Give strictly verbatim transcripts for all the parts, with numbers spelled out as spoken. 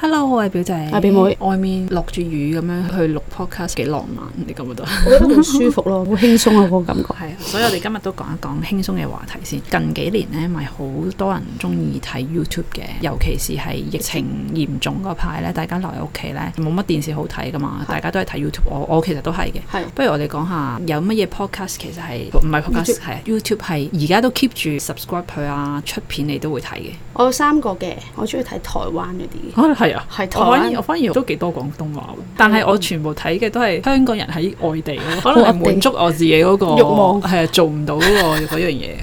Hello， 我係表姐， 阿表妹。 外面落住雨咁樣去錄 podcast 幾浪漫，你覺唔覺得？ 我覺得好舒服咯，好輕鬆啊，嗰個感覺。 係啊，所以我哋今日都講一講輕鬆嘅話題先。近幾年咧，咪好多人中意睇 YouTube 嘅，尤其是係疫情嚴重嗰排咧，大家留喺屋企咧，冇乜電視好睇噶嘛，大家都係睇 YouTube。我我其實都係嘅。係。不如我哋講下有乜嘢 podcast 其實係唔係 podcast 係 YouTube 係而家都 keep 住 subscribe 佢啊，出片你都會睇嘅。 我有三個嘅，我中意睇台灣嗰啲。 啊，係啊， 係台灣。 我反而都幾多廣東話，但係我全部睇嘅都係香港人喺外地咯，可能係滿足我自己嗰個慾望，係啊，做唔到嗰個嗰樣嘢。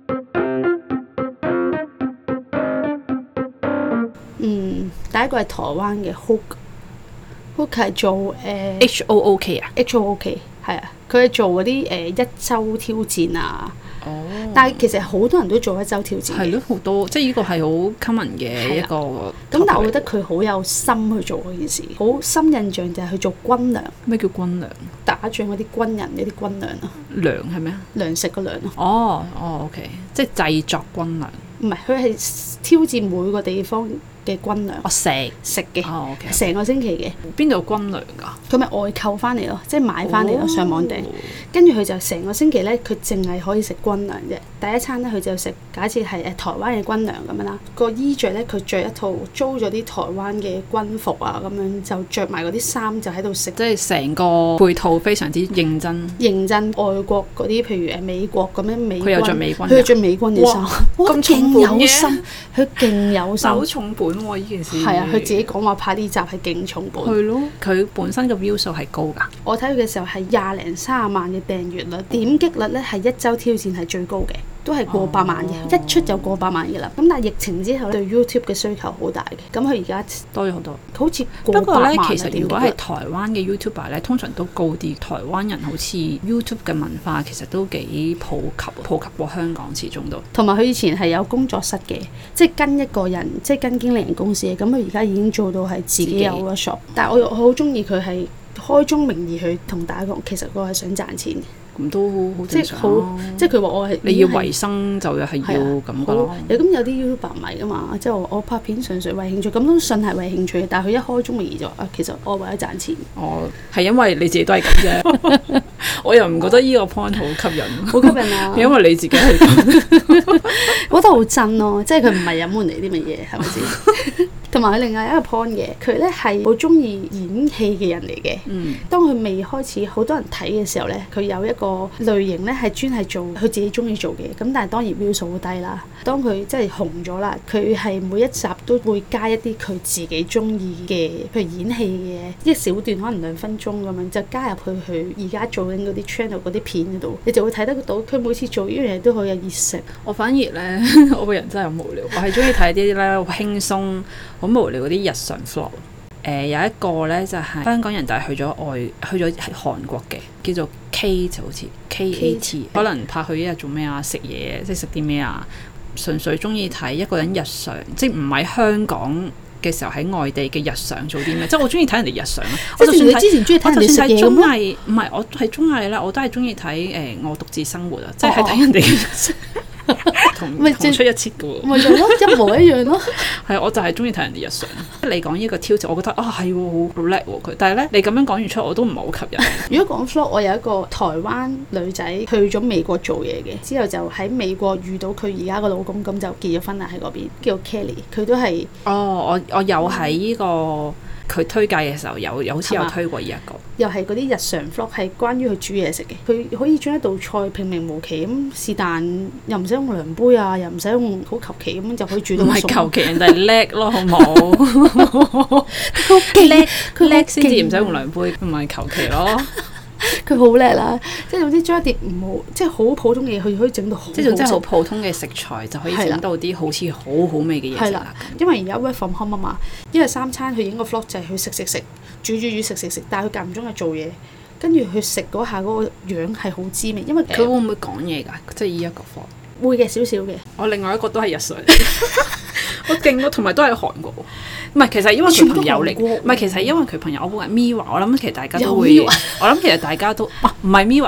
嗯，第一個係台灣嘅 Hook，Hook 係做誒、呃、 H O O K 啊 ，H O O K 係啊，佢係做嗰啲誒一週挑戰啊。哦，但係其實好多人都做一週挑戰嘅，係咯，好多，即係呢個係好 common 嘅一個。咁但係我覺得佢好有心去做嗰件事，好深印象就係去做軍糧。咩叫軍糧？打仗嗰啲軍人嗰啲軍糧啊。糧係咩啊？糧食個糧咯。哦哦 ，OK， 即係製作軍糧。唔係，佢係挑戰每個地方嘅軍糧。我食食嘅，哦 OK，成個星期嘅。邊度有軍糧㗎？佢咪外購翻嚟咯，即係買翻嚟咯，上網訂。跟住佢就成個星期咧，佢淨係可以食軍糧啫。第一餐咧，佢就食假設係誒台灣嘅軍糧咁樣啦。個衣着咧，佢着一套租咗啲台灣嘅軍服啊，咁樣就着埋嗰啲衫就喺度食。即係成個配套非常之認真。認真外國嗰啲，譬如誒美國咁樣美軍。佢有着美軍。佢有着美軍嘅衫。哇！咁勁有心，佢勁有心。好重本喎！呢件事。係啊，佢自己講話拍呢集係勁重本。係咯。佢本身嘅 view 數係高㗎。我睇佢嘅時候係廿零三十萬嘅訂閱率，點擊率咧係一週挑戰係最高嘅。都係過百萬嘅，哦、一出就過百萬嘅啦。咁但係疫情之後對 YouTube 嘅需求好大嘅，咁佢而家多咗好多，好似過百萬。不過咧，其實如果係台灣嘅 YouTuber 咧，通常都高啲。台灣人好似 YouTube 嘅文化其實都幾普及，普及過香港始終都。同埋佢以前係有工作室嘅，即係跟一個人，即係跟經理人公司嘅。咁佢而家已經做到係自己有 workshop。但係我我好中意佢係開宗明義去同大家講，其實我係想賺錢嘅。咁都好正常咯，即係佢話我係你要維生就係要咁噶咯。咁有啲 YouTuber 唔係噶嘛，即係我我拍片純粹為興趣，咁都信係為興趣嘅。但係佢一開宗明義就話啊，其實我為咗賺錢。哦，係因為你自己都係咁啫。我又唔覺得呢個 point 好吸引，好吸引啊！因為你自己係咁，我覺得好真咯，即係佢唔係隱瞞你啲乜嘢，係咪先？同埋佢另外一個 point 嘅，佢咧係好中意演戲嘅人嚟嘅。嗯，當佢未開始好多人睇嘅時候咧，佢有一個類型咧係專係做佢自己中意做嘅。咁但係當然 view 數好低啦。當佢即係紅咗啦，佢係每一集都會加一啲佢自己中意嘅，譬如演戲嘅一小段，可能兩分鐘咁樣，就加入去佢而家做緊嗰啲 channel 嗰啲片嗰度，你就會睇得到佢每次做呢樣嘢都好有熱誠。我反而咧，我個人真係好無聊，我係中意睇啲咧好輕鬆。好無聊嗰啲日常 vlog，誒、呃、有一個咧就係、是、香港人，但係去咗外，去咗韓國嘅，叫做 K 就好似 K A T， 可能拍佢一日做咩啊，食嘢，即係食啲咩啊，純粹中意睇一個人日常，即係唔喺香港嘅時候喺外地嘅日常做啲咩，即係我中意睇人哋日常咯。我就算你之前中意睇人哋食嘢綜藝，唔係我係綜藝啦，我都係中意睇誒我獨自生活啊，即係睇人哋嘅日常。同同出一轍嘅喎，咪就咯，一模一樣咯。係，我就係中意睇人哋日常。你講呢個挑戰，我覺得啊係喎，好叻喎佢。但係咧，你咁樣講完出，我都唔係好吸引。如果講 vlog，我有一個台灣女仔去咗美國做嘢嘅，之後就喺美國遇到佢而家個老公，咁就結咗婚啦喺嗰邊，叫 Kelly。佢都係哦，我我有喺呢個。佢推介嘅時候有有好似有推過呢一個，又係嗰啲日常 vlog 係關於佢煮嘢食嘅。佢可以將一道菜平平無奇咁是但，又唔使用量杯啊，又唔使用好求其咁就可以煮到。唔係求其，人哋係叻咯，好冇？佢叻，佢叻先至唔使用量杯，唔係求其咯。佢好叻啦，即係總之將一碟唔好，即係好普通嘅嘢，佢可以整到好，即係總之好普通嘅食材就可以整到啲好似好好味嘅嘢食啦。因為而家 work from home 啊嘛，一日三餐佢影個 vlog 就係去食食食，煮煮煮食食食，但係佢間唔中係做嘢，跟住佢食嗰下嗰個樣係好滋味。因為佢會唔會講嘢㗎？即係依一個 vlog 會嘅少少嘅。我另外一個都係日常。我勁咯，同埋都係韓國，唔係其實因為佢朋友嚟，唔係其實因為佢朋友，我估係 Mirror，我諗其實大家都會，我諗其實大家都，唔係 Mirror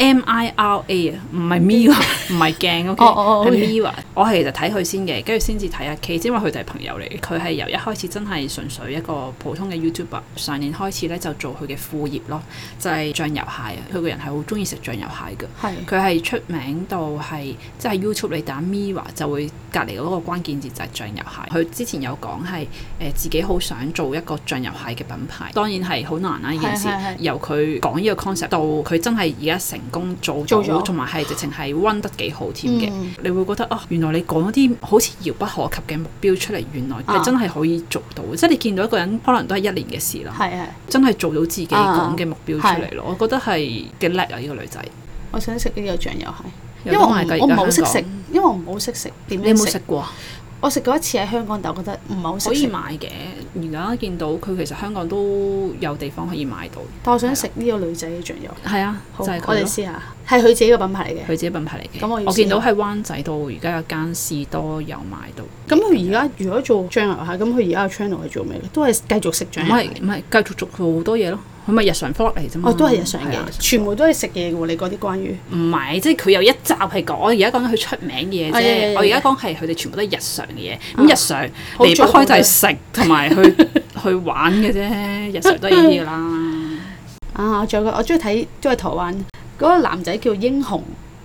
M I R A 啊，唔係 Mirror，唔係鏡 OK，係 Mirror。我係其實睇佢先嘅，跟住先至睇阿 K，因為佢哋係朋友嚟嘅。佢係由一開始真係純粹一個普通嘅 YouTuber， 上年開始咧就做佢嘅副業咯，就係、是、醬油蟹啊。佢個人係好中意食醬油蟹嘅，佢係出名到係即係 YouTube 你打 Mirror 就會隔離嗰個關鍵字就係醬油蟹。佢之前有講係誒自己好想做一個醬油蟹嘅品牌，當然係好難啦呢件事。由佢講呢個 concept 到佢真係而家成功做到，同埋係直情係 run 得幾好添嘅。嗯、你會覺得啊，原來你講一啲好似遙不可及嘅目標出嚟，原來你真係可以做到。啊、即係你見到一個人可能都係一年嘅事啦，係係真係做到自己講嘅目標出嚟咯。啊、我覺得係幾叻啊！呢、呢個女仔，我想食呢個醬油蟹，因為我我唔好識食，因為我唔好識食。點樣食？你有冇食過？我食過一次喺香港，但我覺得唔係好食。可以買嘅，而家見到佢其實香港都有地方可以買到。但我想食呢個女仔嘅醬油。係啊，就係佢咯。我哋試下，係佢自己嘅品牌嚟嘅。佢自己品牌嚟嘅。咁我我見到喺灣仔度而家有間士多有買到。咁佢而家如果做醬油蟹，咁佢而家嘅 channel 係做咩嘅？都係繼續食醬油蟹。唔係唔係，繼續做好多嘢咯。佢咪日常 vlog 嚟啫嘛。哦，都係日常嘅，全部都係食嘢嘅喎。你嗰啲關於？唔係，即係佢有一集係講，我而家講緊佢出名嘅嘢啫。我而家講係佢哋全部都係日常嘅嘢。咁日常離不開就係食同埋去去玩嘅啫。日常都係呢啲㗎啦。啊，我仲有個我中意睇都係台灣嗰個男仔叫英雄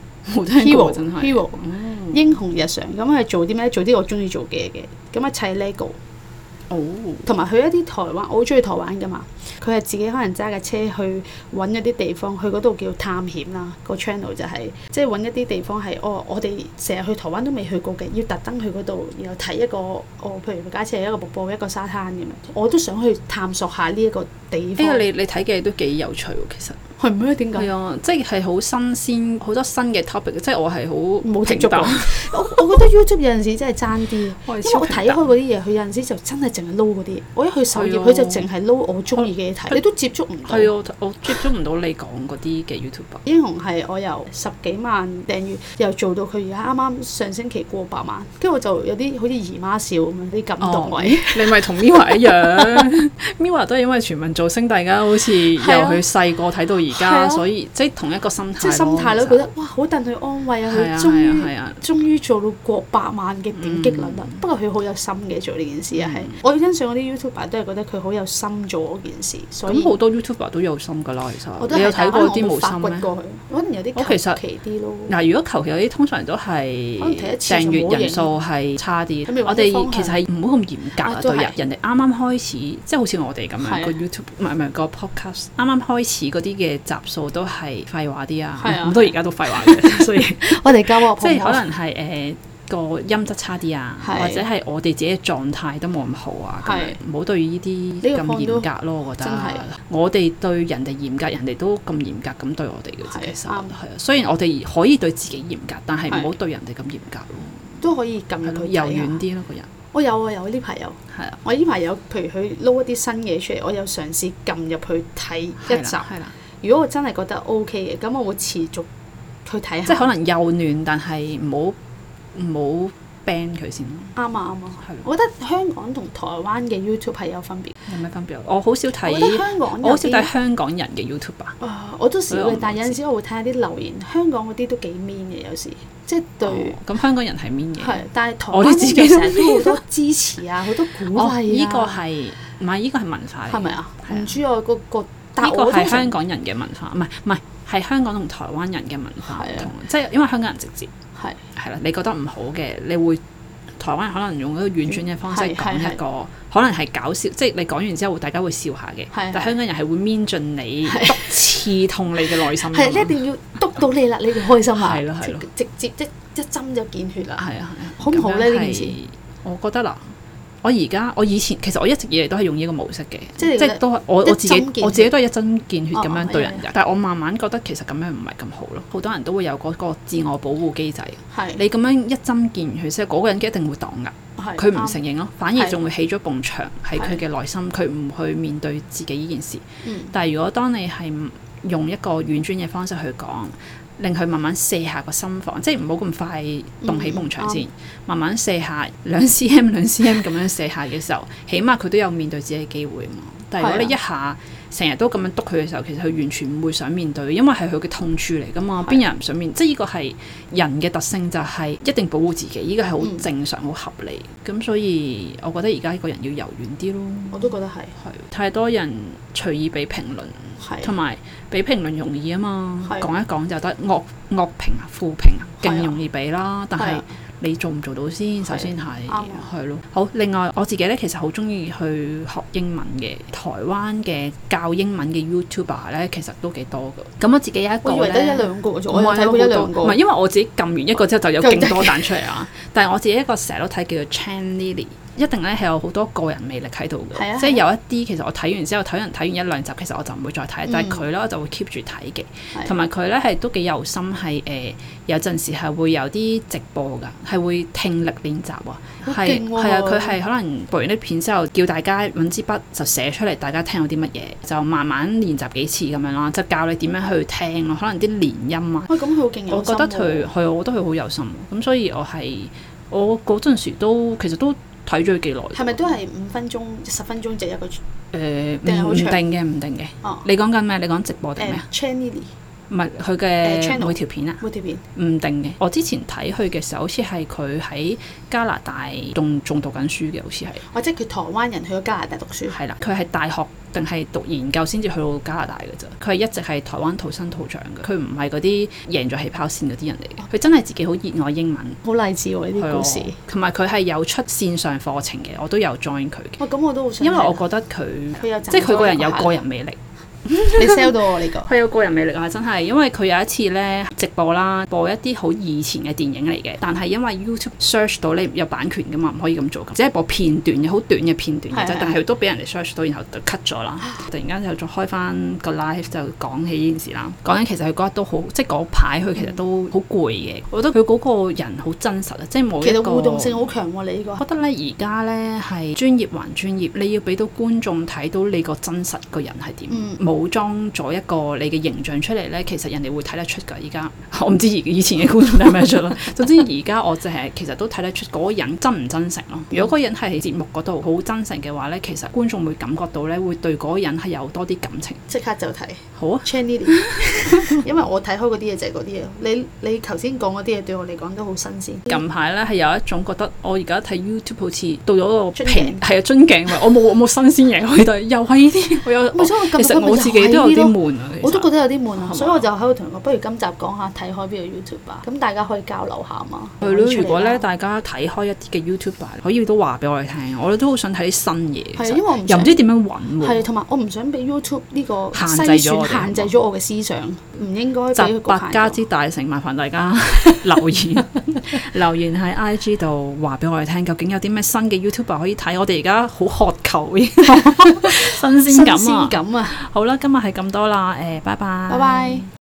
Hero 真係 Hero 英雄日常。咁係做啲咩？做啲我中意做嘅嘢嘅。咁啊砌 Lego。哦，同埋去一啲台灣，我好中意台灣噶嘛。佢係自己可能揸架車去揾一啲地方，去嗰度叫探險啦。個 channel 就係即係揾一啲地方係哦，我哋成日去台灣都未去過嘅，要特登去嗰度，然後睇一個哦，譬如假設係一個瀑布、一個沙灘咁樣，我都想去探索下呢一個地方。因為你你睇嘅都幾有趣喎，其實係咩？點解？係啊，即係好新鮮，好多新嘅 topic。即係我係好冇接觸過。我我覺得 YouTube 有陣時真係爭啲，因為我睇開嗰啲嘢，佢有陣時就真係淨係撈嗰啲。我一去首頁，佢就淨係撈我中意嘅嘢睇，你都接觸唔到。係啊，我接觸唔到你講嗰啲嘅 YouTuber。英雄係我由十幾萬訂閱，又做到佢而家啱啱上星期過百萬，跟住我就有啲好似姨媽笑咁樣啲感動位。你咪同 Mirror 一樣，Mirror 都係因為全民造星，大家好似由佢細個睇到而家，所以即係同一個心態。即係心態咯，覺得哇好戥佢安慰啊！佢終於終於做到過百萬嘅點擊率啦。不過佢好有心嘅做呢件事啊，係我欣賞嗰啲 YouTuber 都係覺得佢好有心做嗰件事。咁好多 YouTuber 都有心㗎啦，其實你有睇過啲冇心咩？可能有啲求其啲咯。嗱，如果求其有啲，通常都係訂閱人數係差啲。我哋其實係唔好咁嚴格啊，對人。人哋啱啱開始，即係好似我哋咁樣個 YouTube，唔係唔係個 podcast，啱啱開始嗰啲嘅集數都係廢話啲啊，咁到而家都廢話嘅，所以我哋交即係可能係誒個音質差啲啊，或者係我哋自己嘅狀態都冇咁好啊，咁唔好對呢啲咁嚴格咯，我覺得。我哋對人哋嚴格，人哋都咁嚴格咁對我哋嘅自己生活，係啊。雖然我哋可以對自己嚴格，但係唔好對人哋咁嚴格咯。都可以撳入去柔軟啲咯，個人。我有啊，有呢排有。係啊，我呢排有，譬如佢撈一啲新嘢出嚟，我有嘗試撳入去睇一集。係啦。如果我真係覺得 OK 嘅，咁我會持續去睇下。即係可能幼嫩，但係唔好唔好 ban 佢先咯。啱啊啱啊，係。我覺得香港同台灣嘅 YouTube 係有分別。有咩分別？我好少睇。我覺得香港我好少睇香港人嘅 YouTube 啊。啊，我都少嘅，但係有陣時我會睇下啲留言，香港嗰啲都幾 mean 嘅，有時即係對。咁香港人係 mean 嘅。係，但係台灣自己成日都好多支持啊，好多鼓勵啊。呢個係唔係呢個係文化嚟？係咪啊？唔知我個個。呢個係香港人嘅文化，唔係唔係係香港同台灣人嘅文化唔同，即係因為香港人直接係係啦，你覺得唔好嘅，你會台灣人可能用一個婉轉嘅方式講一個，可能係搞笑，即係你講完之後大家會笑下嘅，但係香港人係會搣進你，篤刺痛你嘅內心。係你一定要篤到你啦，你就開心啦。係咯係咯，直接一一針就見血啦。係啊係啊，好唔好咧呢件事？我覺得啦。我而家我以前其實我一直以嚟都係用呢個模式嘅，即係都係我我自己我自己都係一針見血咁樣對人㗎。但係我慢慢覺得其實咁樣唔係咁好咯。好多人都會有嗰個自我保護機制。係你咁樣一針見血，即係嗰個人一定會擋㗎。佢唔承認咯，反而仲會起咗埲牆喺佢嘅內心，佢唔去面對自己呢件事。但係如果當你係用一個婉轉嘅方式去講，令佢慢慢卸下個心防，即係唔好咁快動起埲牆先，嗯、慢慢卸下兩 cm 兩 cm 咁樣卸下嘅時候，起碼佢都有面對自己嘅機會嘛。 但係如果你一下成日都咁樣督佢嘅時候，其實佢完全唔會想面對，因為係佢嘅痛處嚟噶嘛，邊有人唔想面？即係呢個係人嘅特性，就係一定保護自己，呢個係好正常、好、嗯、合理。咁所以我覺得而家呢個人要柔軟啲咯。我都覺得係。係太多人隨意俾評論，同埋俾評論容易啊嘛，講一講就得惡惡評啊、負評啊，勁容易俾啦。但係你做唔做到先？首先係係咯。好，另外我自己咧，其實好中意去學英文嘅。台灣嘅教英文嘅 YouTuber 咧，其實都幾多㗎。咁我自己有一個咧，我以為得一兩個啫，我睇過一兩個。唔係，因為我自己撳完一個之後就有勁多彈出嚟啊。但係我自己一個成日都睇叫做 Chan Lily， 一定咧係有好多個人魅力喺度嘅。啊、即係有一啲其實我睇完之後，睇人睇完一兩集，其實我就唔會再睇。嗯、但係佢咧我就會 keep 住睇嘅。同埋佢咧係都幾有心，係誒、呃、有陣時係會有啲直播㗎，係會聽力練習啊。係係啊，佢係可能播完啲片之後，叫大家揾支筆就寫出嚟，大家聽到啲乜嘢，就慢慢練習幾次咁樣咯，就教你點樣去聽咯，可能啲連音啊。喂、哎，咁佢好勁有心喎。我覺得佢係，我覺得佢好有心。咁所以我係我嗰陣時都其實都睇咗佢幾耐。係咪都係五分鐘、十分鐘就一個？誒、呃，唔定嘅，唔定嘅。哦、你講緊咩？你講直播定咩？Channel 唔係佢嘅每條片啊，每條片唔定嘅。我之前睇佢嘅時候，好似係佢喺加拿大仲仲讀緊書嘅，好似係。或者佢台灣人去咗加拿大讀書。係啦，佢係大學定係讀研究先至去到加拿大嘅啫。佢係一直係台灣土生土長嘅，佢唔係嗰啲贏咗起跑線嗰啲人嚟嘅。佢真係自己好熱愛英文，好勵志喎呢啲故事。同埋佢係有出線上課程嘅，我都有 join 佢嘅。咁、哦、我都好想。因為我覺得佢即係佢個人有個人魅力。你 sell 到我呢個，佢有個人魅力啊！真係，因為佢有一次咧直播啦，播一啲好以前嘅電影嚟嘅，但係因為 YouTube search 到你有版權噶嘛，唔可以咁做，只係播片段嘅，好短嘅片段嘅啫。但係都俾人哋 search 到，然後就 cut 咗啦。突然間就再開翻個 live 就講起呢件事啦。講緊其實佢嗰日都好，即係嗰排佢其實都好攰嘅。我覺得佢嗰個人好真實啊，即係冇一個其實互動性好強喎。你呢個，我覺得咧而家咧係專業還專業，你要俾到觀眾睇到你個真實個人係點。嗯武裝咗一個你嘅形象出嚟咧，其實人哋會睇得出㗎。而家我唔知以前嘅觀眾睇唔睇得出啦。總之而家我就係其實都睇得出嗰個人真唔真誠咯。如果嗰個人係喺節目嗰度好真誠嘅話咧，其實觀眾會感覺到咧，會對嗰個人係有多啲感情。即刻就睇好啊 Channel 因為我睇開嗰啲嘢就係嗰啲嘢。你你頭先講嗰啲嘢對我嚟講都好新鮮。近排咧係有一種覺得我而家睇 YouTube 好似到咗個瓶係啊樽頸位，我冇我冇新鮮嘢可以睇，又係呢啲我有。其實我自己都有啲悶啊，我都覺得有啲悶啊，所以我就喺度同佢講，不如今集講下睇開邊個 YouTuber 啊，咁大家可以交流下嘛。係咯，如果咧大家睇開一啲嘅 YouTuber，可以都話俾我哋聽，我哋都好想睇啲新嘢。係因為我又唔知點樣揾喎。係，同埋我唔想俾 YouTube 呢個限制咗限制咗我嘅思想，唔應該俾佢局限咗。百家之大成，麻煩大家留言留言喺 I G 度話俾我哋聽，究竟有啲咩新嘅 YouTuber 可以睇？我哋而家好渴求新鮮感啊！新鮮感啊！好啦，今日係咁多啦，誒，拜拜。拜拜。